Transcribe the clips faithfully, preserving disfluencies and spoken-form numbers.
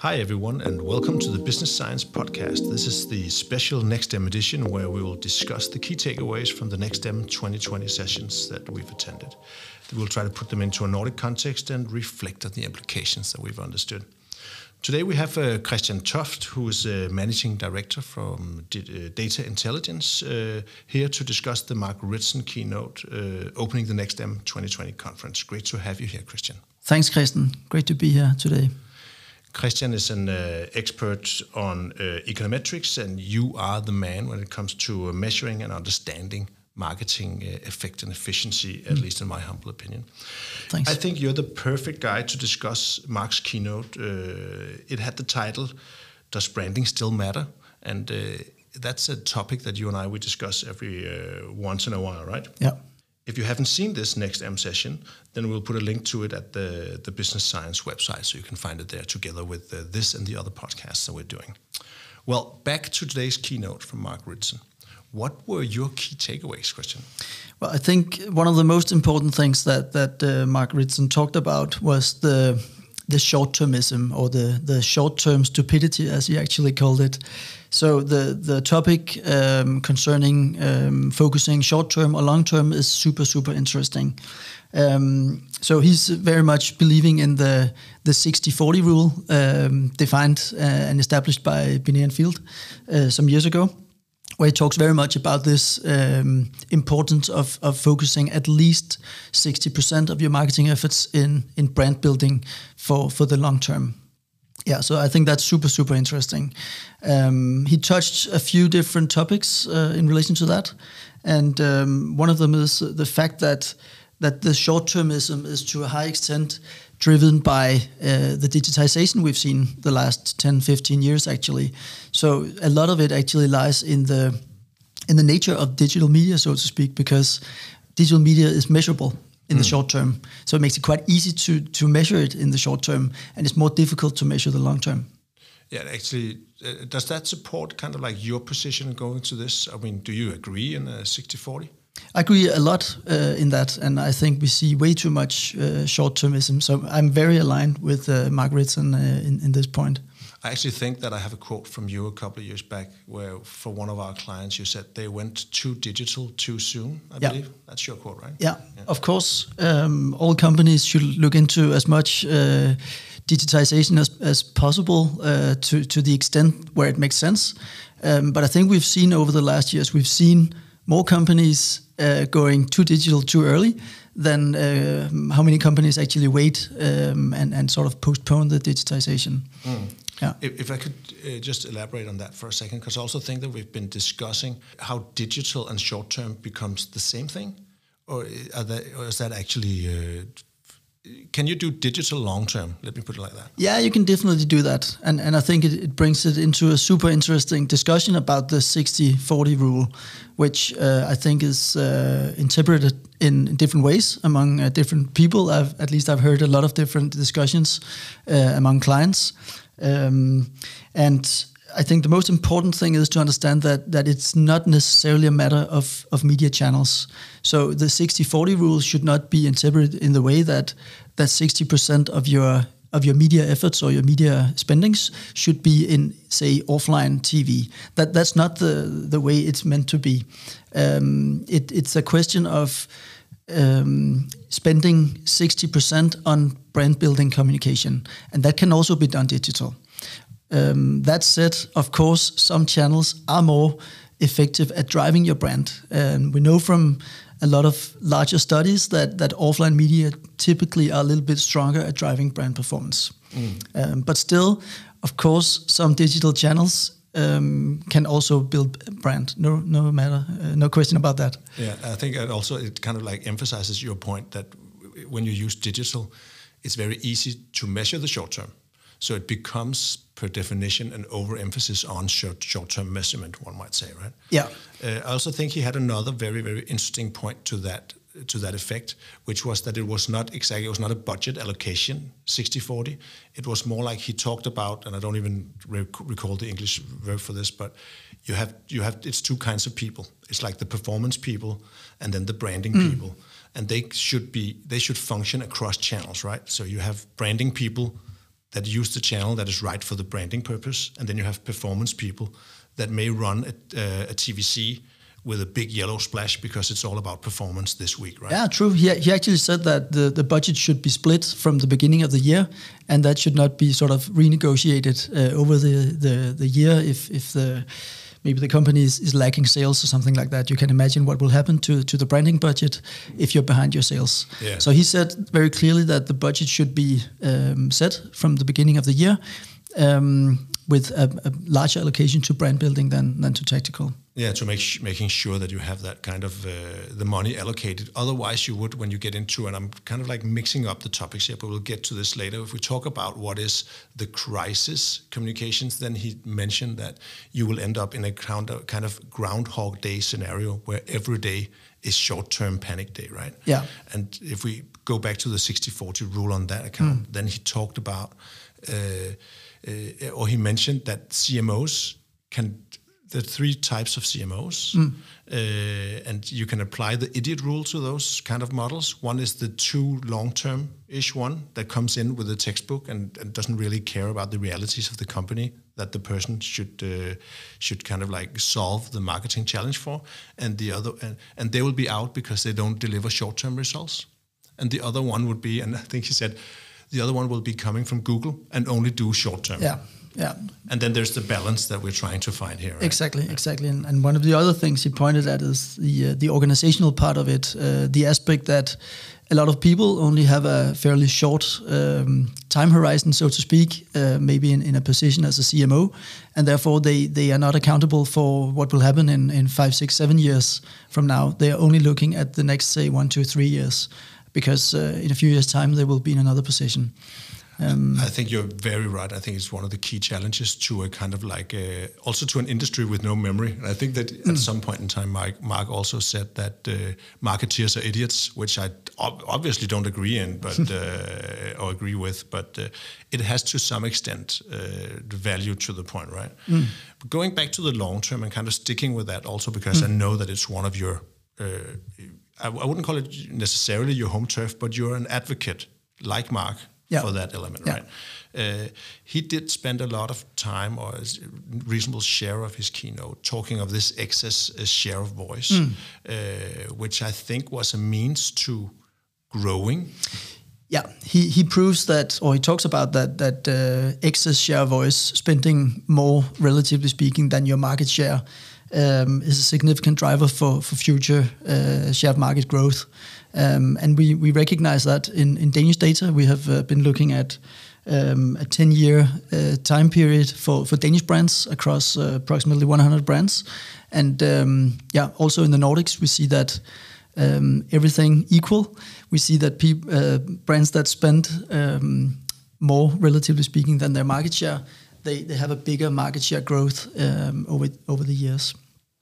Hi everyone, and welcome to the Business Science Podcast. This is the special NextM edition where we will discuss the key takeaways from the NextM twenty twenty sessions that we've attended. We'll try to put them into a Nordic context and reflect on the implications that we've understood. Today we have uh, Christian Toft, who is uh, Managing Director from D- uh, Data Intelligence, uh, here to discuss the Mark Ritson keynote uh, opening the NextM twenty twenty conference. Great to have you here, Christian. Thanks, Christian. Great to be here today. Christian is an uh, expert on uh, econometrics, and you are the man when it comes to uh, measuring and understanding marketing uh, effect and efficiency, at mm. least in my humble opinion. Thanks. I think you're the perfect guy to discuss Mark's keynote. Uh, it had the title, Does Branding Still Matter? And uh, that's a topic that you and I, we discuss every uh, once in a while, right? Yeah. If you haven't seen this NextM session, then we'll put a link to it at the, the Business Science website, so you can find it there together with uh, this and the other podcasts that we're doing. Well, back to today's keynote from Mark Ritson. What were your key takeaways, Christian? Well, I think one of the most important things that that uh, Mark Ritson talked about was the the short-termism, or the the short-term stupidity, as he actually called it. So the the topic um, concerning um, focusing short-term or long-term is super super interesting. Um, so he's very much believing in the the sixty forty rule, um, defined uh, and established by Binet and Field uh, some years ago, where he talks very much about this um, importance of, of focusing at least sixty percent of your marketing efforts in, in brand building for, for the long term. Yeah, so I think that's super, super interesting. Um, he touched a few different topics uh, in relation to that. And um, one of them is the fact that that the short-termism is to a high extent driven by uh, the digitization we've seen the last ten, fifteen years, actually. So a lot of it actually lies in the in the nature of digital media, so to speak, because digital media is measurable in mm. the short term. So it makes it quite easy to to measure it in the short term, and it's more difficult to measure the long term. Yeah, actually, uh, does that support kind of like your position going to this? I mean, do you agree in a sixty forty? I agree a lot uh, in that, and I think we see way too much uh, short-termism. So I'm very aligned with uh, Mark Ritson uh, in, in this point. I actually think that I have a quote from you a couple of years back where for one of our clients you said they went too digital too soon, I yeah. believe. That's your quote, right? Yeah, yeah. Of course. Um, all companies should look into as much uh, digitization as, as possible uh, to, to the extent where it makes sense. Um, but I think we've seen over the last years, we've seen more companies uh, going too digital too early than uh, how many companies actually wait um, and, and sort of postpone the digitization. Mm. Yeah. If, if I could uh, just elaborate on that for a second, because I also think that we've been discussing how digital and short-term becomes the same thing, or, are they, or is that actually... Uh, Can you do digital long-term? Let me put it like that. Yeah, you can definitely do that. And and I think it, it brings it into a super interesting discussion about the sixty forty rule, which uh, I think is uh, interpreted in different ways among uh, different people. I've, at least I've heard a lot of different discussions uh, among clients. Um, and I think the most important thing is to understand that that it's not necessarily a matter of, of media channels. So the sixty forty rule should not be interpreted in the way that that sixty percent of your of your media efforts or your media spendings should be in, say, offline T V. That that's not the the way it's meant to be. Um, it, it's a question of um, spending sixty percent on brand building communication, and that can also be done digital. Um, that said, of course, some channels are more effective at driving your brand. Um, we know from a lot of larger studies that, that offline media typically are a little bit stronger at driving brand performance. Mm. Um, but still, of course, some digital channels um, can also build brand. No, no matter, uh, no question about that. Yeah, I think it also it kind of like emphasizes your point that when you use digital, it's very easy to measure the short term. So it becomes, per definition, an overemphasis on short, short-term measurement, one might say, right? Yeah. Uh, I also think he had another very, very interesting point to that to that effect, which was that it was not exactly, it was not a budget allocation, sixty forty. It was more like he talked about, and I don't even rec- recall the English verb for this, but you have, you have, it's two kinds of people. It's like the performance people and then the branding mm. people. And they should be, they should function across channels, right? So you have branding people that use the channel that is right for the branding purpose, and then you have performance people that may run a, uh, a T V C with a big yellow splash because it's all about performance this week, right? Yeah, true. He, he actually said that the, the budget should be split from the beginning of the year, and that should not be sort of renegotiated uh, over the, the, the year if, if the maybe the company is, is lacking sales or something like that. You can imagine what will happen to, to the branding budget if you're behind your sales. Yeah. So he said very clearly that the budget should be um, set from the beginning of the year um, with a, a larger allocation to brand building than, than to tactical. Yeah, to make sh- making sure that you have that kind of uh, the money allocated. Otherwise, you would, when you get into, and I'm kind of like mixing up the topics here, but we'll get to this later. If we talk about what is the crisis communications, then he mentioned that you will end up in a kind of, kind of Groundhog Day scenario where every day is short-term panic day, right? Yeah. And if we go back to the sixty forty rule on that account, mm. then he talked about, uh, uh, or he mentioned that C M Os can. There are three types of C M Os, mm. uh, and you can apply the idiot rule to those kind of models. One is the too long-term-ish one that comes in with a textbook and, and doesn't really care about the realities of the company that the person should uh, should kind of like solve the marketing challenge for. And the other, and, and they will be out because they don't deliver short-term results. And the other one would be, and I think he said, the other one will be coming from Google and only do short-term. Yeah. Yeah, and then there's the balance that we're trying to find here. Right? Exactly, exactly. And, and one of the other things he pointed at is the uh, the organizational part of it, uh, the aspect that a lot of people only have a fairly short um, time horizon, so to speak, uh, maybe in, in a position as a C M O, and therefore they, they are not accountable for what will happen in, in five, six, seven years from now. They are only looking at the next, say, one, two, three years, because uh, in a few years' time they will be in another position. Um, I think you're very right. I think it's one of the key challenges to a kind of like a, also to an industry with no memory. And I think that mm. at some point in time, Mark, Mark also said that uh, marketeers are idiots, which I ob- obviously don't agree in, but uh, or agree with. But uh, it has to some extent uh, the value to the point, right? Mm. But going back to the long term and kind of sticking with that also because mm. I know that it's one of your. Uh, I, I wouldn't call it necessarily your home turf, but you're an advocate like Mark. Yeah. For that element, yeah. right? Uh, he did spend a lot of time, or a reasonable share of his keynote, talking of this excess uh, share of voice, mm. uh, which I think was a means to growing. Yeah, he he proves that, or he talks about that that uh, excess share of voice, spending more, relatively speaking, than your market share, um, is a significant driver for for future uh, share of market growth. Um, and we, we recognize that in, in Danish data. We have uh, been looking at um, a ten-year uh, time period for, for Danish brands across uh, approximately one hundred brands. And um, yeah, also in the Nordics, we see that um, everything equal. We see that pe- uh, brands that spend um, more, relatively speaking, than their market share, they, they have a bigger market share growth um, over over the years.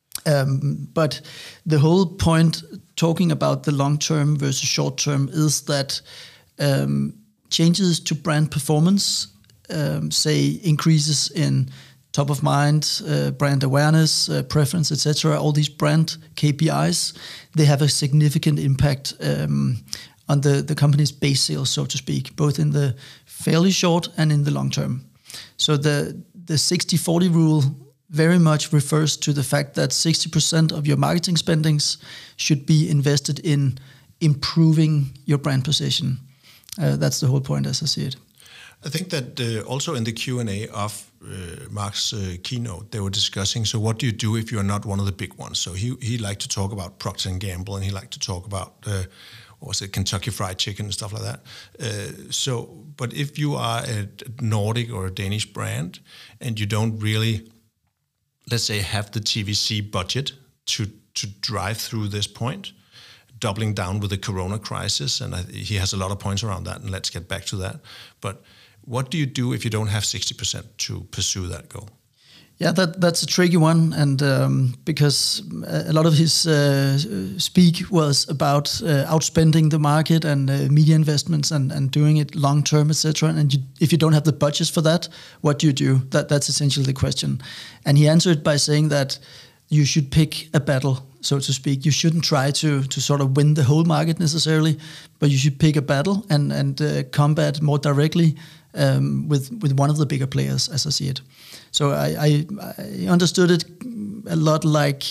Um, but the whole point talking about the long term versus short term is that um, changes to brand performance, um, say increases in top of mind, uh, brand awareness, uh, preference, et cetera, all these brand K P Is, they have a significant impact um, on the, the company's base sales, so to speak, both in the fairly short and in the long term. So the the sixty forty rule very much refers to the fact that sixty percent of your marketing spendings should be invested in improving your brand position. Uh, that's the whole point as I see it. I think that uh, also in the Q and A of uh, Mark's uh, keynote, they were discussing, so what do you do if you're not one of the big ones? So he he liked to talk about Procter and Gamble, and he liked to talk about, uh, what was it, Kentucky Fried Chicken and stuff like that. Uh, so, but if you are a Nordic or a Danish brand, and you don't really, let's say, have the T V C budget to to drive through this point, doubling down with the Corona crisis, and I, he has a lot of points around that, and let's get back to that. But what do you do if you don't have sixty percent to pursue that goal? Yeah, that that's a tricky one, and um, because a lot of his uh, speak was about uh, outspending the market and uh, media investments and, and doing it long term, et cetera. And you, if you don't have the budgets for that, what do you do? That that's essentially the question. And he answered by saying that you should pick a battle, so to speak. You shouldn't try to to sort of win the whole market necessarily, but you should pick a battle and and uh, combat more directly um, with with one of the bigger players, as I see it. So I, I, I understood it a lot like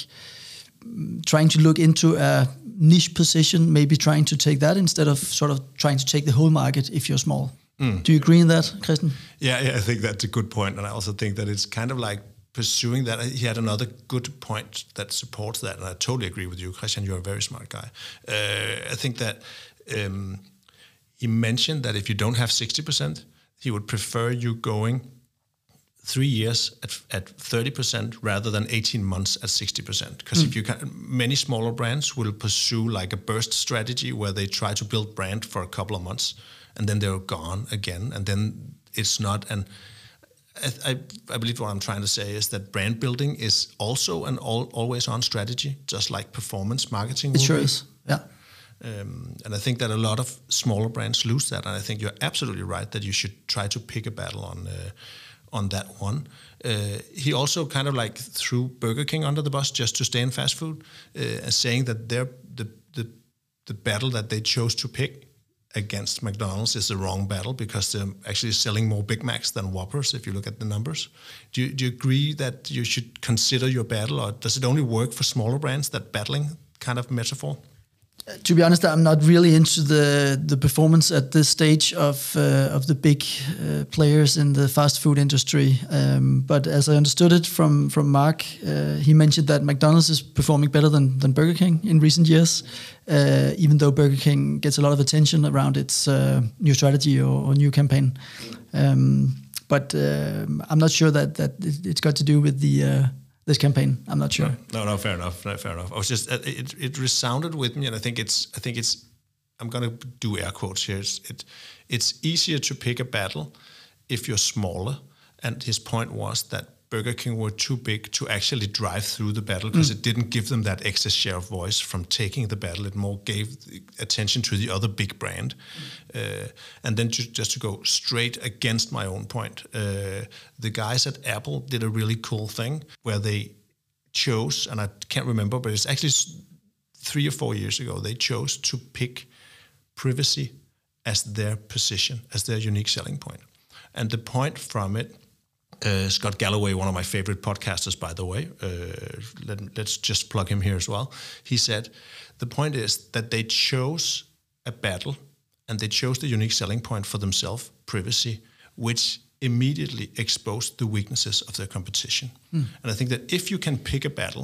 trying to look into a niche position, maybe trying to take that instead of sort of trying to take the whole market if you're small. Mm. Do you agree in that, Christian? Yeah, yeah, I think that's a good point, and I also think that it's kind of like pursuing that. He had another good point that supports that, and I totally agree with you, Christian. You're a very smart guy. Uh, I think that um, he mentioned that if you don't have sixty percent, he would prefer you going three years at, at thirty percent rather than eighteen months at sixty percent. Because mm. if you can, many smaller brands will pursue like a burst strategy where they try to build brand for a couple of months and then they're gone again. And then it's not an, I, I believe what I'm trying to say is that brand building is also an all, always on strategy, just like performance marketing. It sure is, yeah. Um, and I think that a lot of smaller brands lose that. And I think you're absolutely right that you should try to pick a battle on uh, on that one. Uh, he also kind of like threw Burger King under the bus just to stay in fast food, uh, saying that they're, the, the the battle that they chose to pick against McDonald's is the wrong battle because they're actually selling more Big Macs than Whoppers if you look at the numbers. Do you, do you agree that you should consider your battle, or does it only work for smaller brands, that battling kind of metaphor? To be honest, I'm not really into the the performance at this stage of uh, of the big uh, players in the fast food industry. Um, but as I understood it from from Mark, uh, he mentioned that McDonald's is performing better than than Burger King in recent years, uh, even though Burger King gets a lot of attention around its uh, new strategy or, or new campaign. Um, but uh, I'm not sure that that it's got to do with the Uh, this campaign. I'm not sure. No, no, fair enough. No, fair enough. I was just it, it resounded with me, and I think it's I think it's I'm going to do air quotes here. It's, it it's easier to pick a battle if you're smaller. And his point was that Burger King were too big to actually drive through the battle because mm. it didn't give them that excess share of voice from taking the battle. It more gave attention to the other big brand. Mm. Uh, and then to, just to go straight against my own point, uh, the guys at Apple did a really cool thing where they chose, and I can't remember, but it's actually three or four years ago, they chose to pick privacy as their position, as their unique selling point. And the point from it, Uh, Scott Galloway, one of my favorite podcasters, by the way, uh, let, let's just plug him here as well. He said, the point is that they chose a battle and they chose the unique selling point for themselves, privacy, which immediately exposed the weaknesses of their competition. Mm. And I think that if you can pick a battle,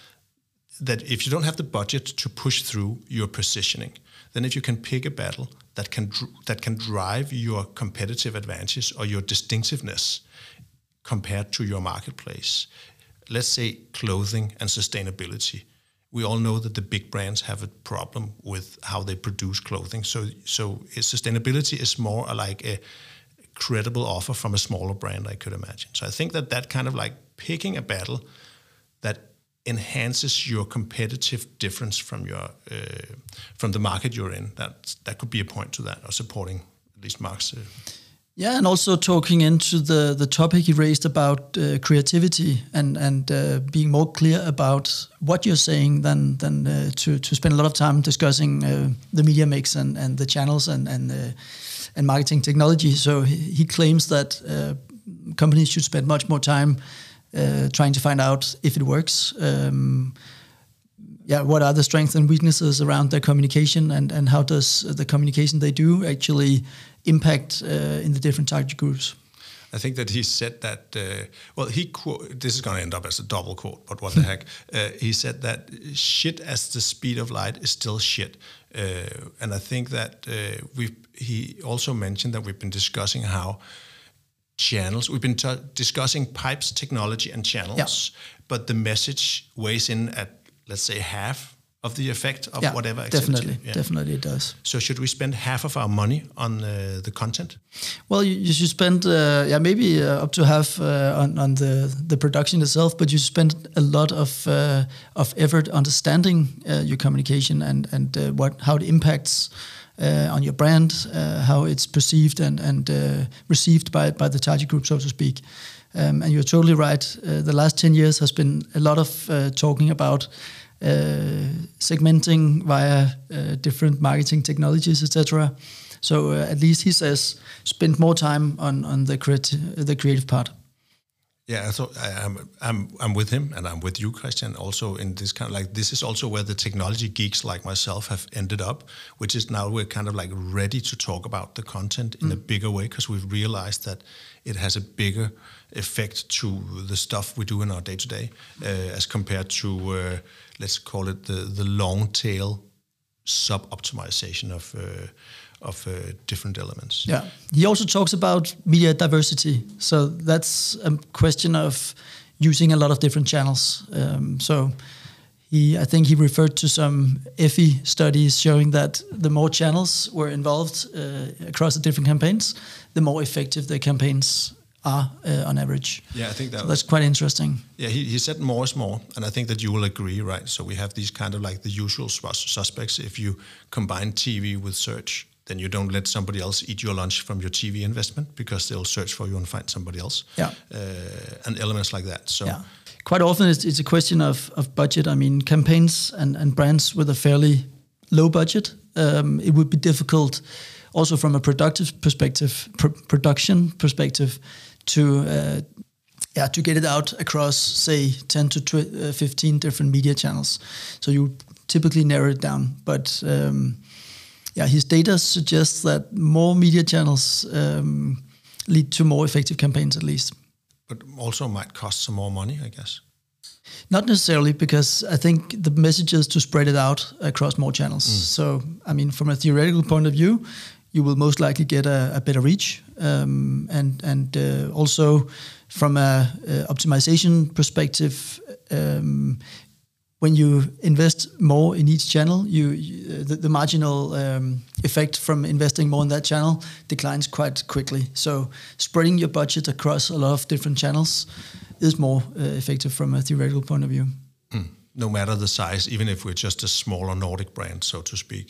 that if you don't have the budget to push through your positioning, then if you can pick a battle that can dr- that can drive your competitive advantage or your distinctiveness compared to your marketplace. Let's say clothing and sustainability. We all know that the big brands have a problem with how they produce clothing. So, so sustainability is more like a credible offer from a smaller brand, I could imagine. So I think that that kind of like picking a battle that enhances your competitive difference from your uh, from the market you're in. That that could be a point to that, or supporting at least Mark's. Uh, Yeah, and also talking into the, the topic he raised about uh, creativity and and uh, being more clear about what you're saying than than uh, to to spend a lot of time discussing uh, the media mix and, and the channels and and uh, and marketing technology. So he, he claims that uh, companies should spend much more time uh, trying to find out if it works. Um, yeah, what are the strengths and weaknesses around their communication, and and how does the communication they do actually impact uh, in the different target groups? I think that he said that, uh, well, he quote, this is going to end up as a double quote, but what the heck. Uh, he said that shit as the speed of light is still shit. Uh, and I think that uh, we've, he also mentioned that we've been discussing how channels, we've been t- discussing pipes, technology, and channels, yeah. but the message weighs in at, let's say, half of the effect of yeah, whatever activity. Definitely, yeah. definitely it does. So should we spend half of our money on uh, the content? Well, you, you should spend, uh, yeah, maybe uh, up to half uh, on, on the, the production itself, but you spend a lot of uh, of effort understanding uh, your communication and and uh, what how it impacts uh, on your brand, uh, how it's perceived and and uh, received by by the target group, so to speak. Um, and you're totally right. Uh, the last ten years has been a lot of uh, talking about uh, segmenting via uh, different marketing technologies, et cetera. So uh, at least he says spend more time on on the creati- the creative part. Yeah, I thought I, I'm I'm I'm with him, and I'm with you, Christian. Also, in this kind of like this is also where the technology geeks like myself have ended up, which is now we're kind of like ready to talk about the content in mm. a bigger way because we've realized that it has a bigger effect to the stuff we do in our day to day, as compared to uh, let's call it the the long tail sub optimization of. Uh, of uh, different elements. Yeah. He also talks about media diversity. So that's a question of using a lot of different channels. Um, so he, I think he referred to some F E studies showing that the more channels were involved uh, across the different campaigns, the more effective the campaigns are uh, on average. Yeah, I think that so was, that's quite interesting. Yeah, he, he said more is more, and I think that you will agree, right? So we have these kind of like the usual suspects. If you combine T V with search, then you don't let somebody else eat your lunch from your T V investment because they'll search for you and find somebody else. Yeah, uh, and elements like that. So yeah. Quite often it's, it's a question of, of budget. I mean, campaigns and, and brands with a fairly low budget, um, it would be difficult also from a productive perspective, pr- production perspective, to uh, yeah to get it out across say ten to tw- uh, fifteen different media channels. So you typically narrow it down, but. Um, Yeah, his data suggests that more media channels um, lead to more effective campaigns, at least. But also might cost some more money, I guess. Not necessarily, because I think the message is to spread it out across more channels. Mm. So, I mean, from a theoretical point of view, you will most likely get a, a better reach, um, and and uh, also from a, a optimization perspective. Um, When you invest more in each channel, you, you the, the marginal um, effect from investing more in that channel declines quite quickly. So spreading your budget across a lot of different channels is more uh, effective from a theoretical point of view. Mm. No matter the size, even if we're just a smaller Nordic brand, so to speak.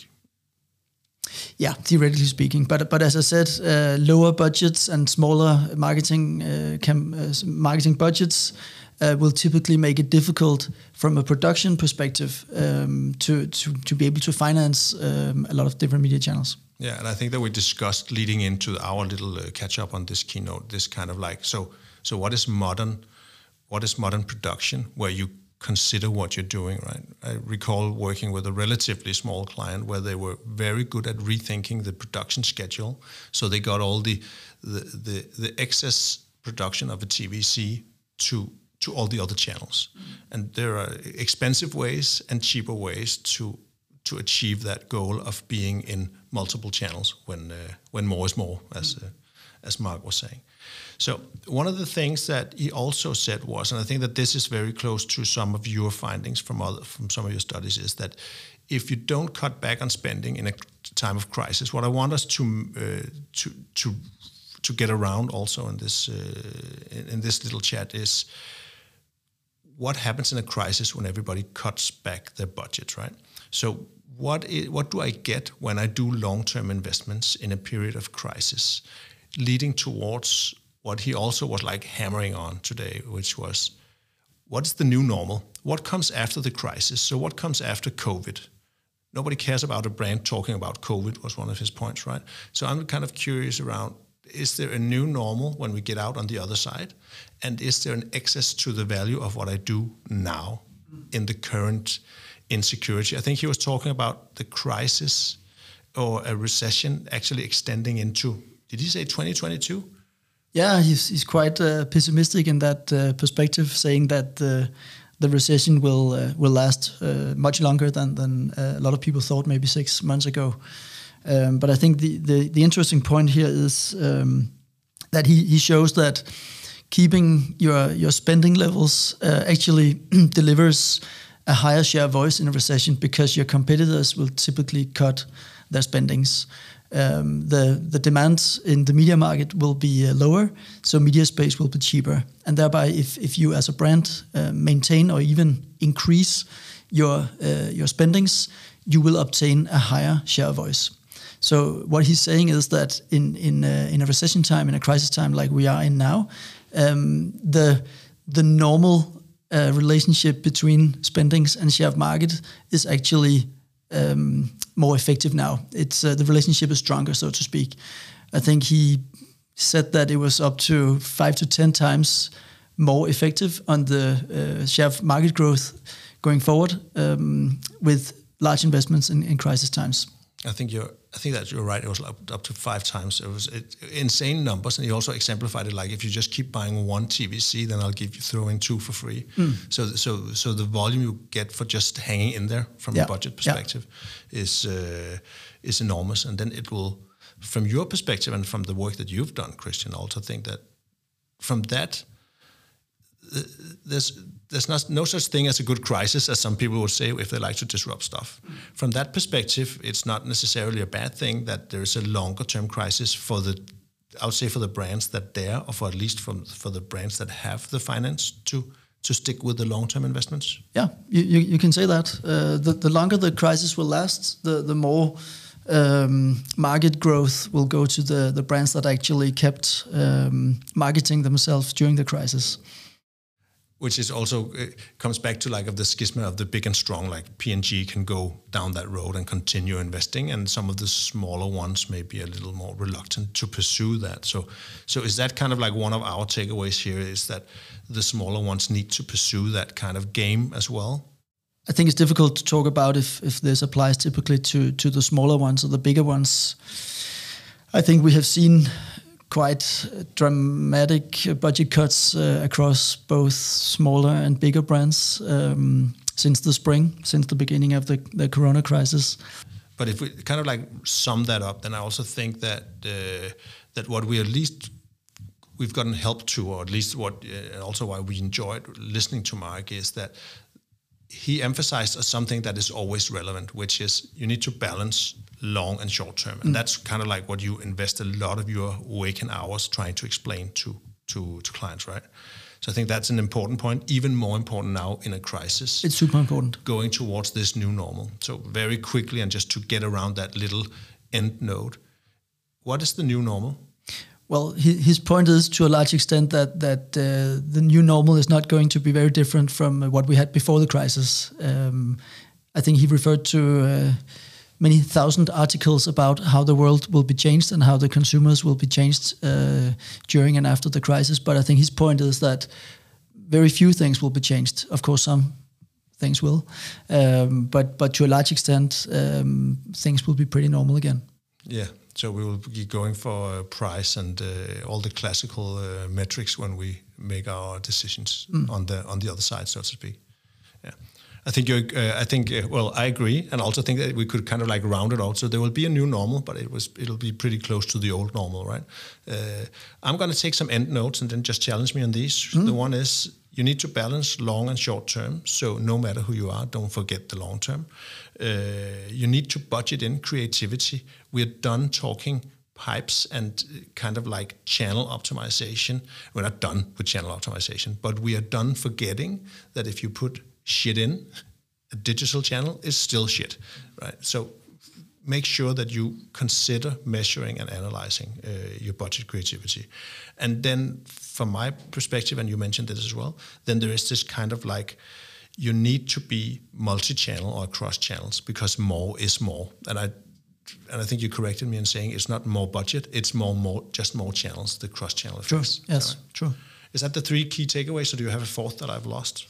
Yeah, theoretically speaking. But but as I said, uh, lower budgets and smaller marketing uh, cam- uh, marketing budgets Uh, will typically make it difficult from a production perspective um, to, to to be able to finance um, a lot of different media channels. Yeah, and I think that we discussed leading into our little uh, catch up on this keynote, this kind of like, so so what is modern, what is modern production, where you consider what you're doing, right? I recall working with a relatively small client where they were very good at rethinking the production schedule. So they got all the the the, the excess production of a T V C to to all the other channels. Mm. And there are expensive ways and cheaper ways to to achieve that goal of being in multiple channels when uh, when more is more, as uh, as Mark was saying. So one of the things that he also said was, and I think that this is very close to some of your findings from other, from some of your studies, is that if you don't cut back on spending in a time of crisis, what I want us to uh, to to to get around also in this uh, in, in this little chat is, what happens in a crisis when everybody cuts back their budget, right? So what is, what do I get when I do long-term investments in a period of crisis, leading towards what he also was like hammering on today, which was, what's the new normal? What comes after the crisis? So what comes after COVID? Nobody cares about a brand talking about COVID was one of his points, right? So I'm kind of curious around, is there a new normal when we get out on the other side? And is there an excess to the value of what I do now in the current insecurity? I think he was talking about the crisis or a recession actually extending into, did he say twenty twenty-two? Yeah, he's he's quite uh, pessimistic in that uh, perspective, saying that uh, the recession will uh, will last uh, much longer than than uh, a lot of people thought maybe six months ago. Um, but I think the, the, the interesting point here is um, that he, he shows that keeping your your spending levels uh, actually delivers a higher share of voice in a recession, because your competitors will typically cut their spendings. Um, the the demand in the media market will be uh, lower, so media space will be cheaper, and thereby, if if you as a brand uh, maintain or even increase your uh, your spendings, you will obtain a higher share of voice. So what he's saying is that in in a, in a recession time, in a crisis time like we are in now, um, the the normal uh, relationship between spendings and share of market is actually um, more effective now. It's uh, the relationship is stronger, so to speak. I think he said that it was up to five to ten times more effective on the uh, share of market growth going forward um, with large investments in, in crisis times. I think you're. I think that you're right. It was up, up to five times. It was it, insane numbers, and he also exemplified it like if you just keep buying one T V C, then I'll give you throw in two for free. Mm. So so so the volume you get for just hanging in there from yeah. a budget perspective yeah. is uh, is enormous, and then it will. From your perspective and from the work that you've done, Christian, I also think that from that, uh, there's there's not, no such thing as a good crisis, as some people would say if they like to disrupt stuff. Mm. From that perspective, it's not necessarily a bad thing that there's a longer-term crisis for the, I would say, for the brands that dare, or for at least from, for the brands that have the finance to to stick with the long-term investments. Yeah, you you, you can say that. Uh, the, the longer the crisis will last, the the more Um, market growth will go to the, the brands that actually kept um, marketing themselves during the crisis. Which is also, it comes back to like of the schisma of the big and strong, like P and G can go down that road and continue investing, and some of the smaller ones may be a little more reluctant to pursue that. So, so is that kind of like one of our takeaways here, is that the smaller ones need to pursue that kind of game as well? I think it's difficult to talk about if, if this applies typically to, to the smaller ones or the bigger ones. I think we have seen quite dramatic budget cuts uh, across both smaller and bigger brands um, since the spring, since the beginning of the, the corona crisis. But if we kind of like sum that up, then I also think that uh, that what we at least we've gotten help to, or at least what uh, also why we enjoyed listening to Mark, is that he emphasized something that is always relevant, which is you need to balance long and short term. And mm. that's kind of like what you invest a lot of your waking hours trying to explain to, to, to clients, right? So I think that's an important point, even more important now in a crisis. It's super important. Going towards this new normal. So very quickly, and just to get around that little end node, what is the new normal? Well, his point is to a large extent that that uh, the new normal is not going to be very different from what we had before the crisis. Um, I think he referred to uh, many thousand articles about how the world will be changed and how the consumers will be changed uh, during and after the crisis. But I think his point is that very few things will be changed. Of course, some things will, um, but but to a large extent, um, things will be pretty normal again. Yeah. So we will be going for uh, price and uh, all the classical uh, metrics when we make our decisions mm. on the on the other side, so to speak. Yeah, I think you. Uh, I think. Uh, well, I agree, and also think that we could kind of like round it out. So there will be a new normal, but it was it'll be pretty close to the old normal, right? Uh, I'm going to take some end notes and then just challenge me on these. Mm. The one is you need to balance long and short term. So no matter who you are, don't forget the long term. Uh, you need to budget in creativity. We're done talking pipes and kind of like channel optimization. We're not done with channel optimization, but we are done forgetting that if you put shit in, a digital channel is still shit, right? So make sure that you consider measuring and analyzing uh, your budget creativity. And then from my perspective, and you mentioned this as well, then there is this kind of like, you need to be multi-channel or across channels because more is more. And I and I think you corrected me in saying it's not more budget, it's more, more just more channels, the cross-channel effects. True, yes, right? True. Is that the three key takeaways, or do you have a fourth that I've lost?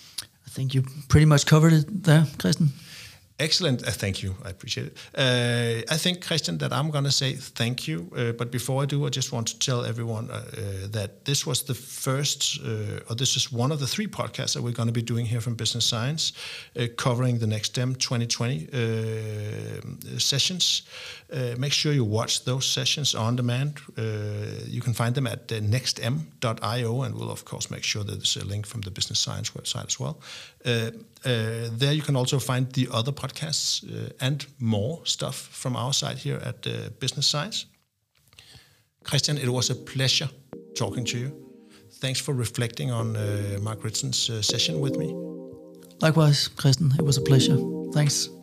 I think you pretty much covered it there, Christian. Excellent. Uh, thank you. I appreciate it. Uh, I think, Christian, that I'm going to say thank you. Uh, but before I do, I just want to tell everyone uh, uh, that this was the first, uh, or this is one of the three podcasts that we're going to be doing here from Business Science, uh, covering the NextDem twenty twenty uh, sessions. Uh, make sure you watch those sessions on demand. Uh, you can find them at uh, nextm dot io, and we'll, of course, make sure that there's a link from the Business Science website as well. Uh, uh, there you can also find the other podcasts uh, and more stuff from our side here at uh, Business Science. Christian, it was a pleasure talking to you. Thanks for reflecting on uh, Mark Ritzen's uh, session with me. Likewise, Christian, it was a pleasure. Thanks.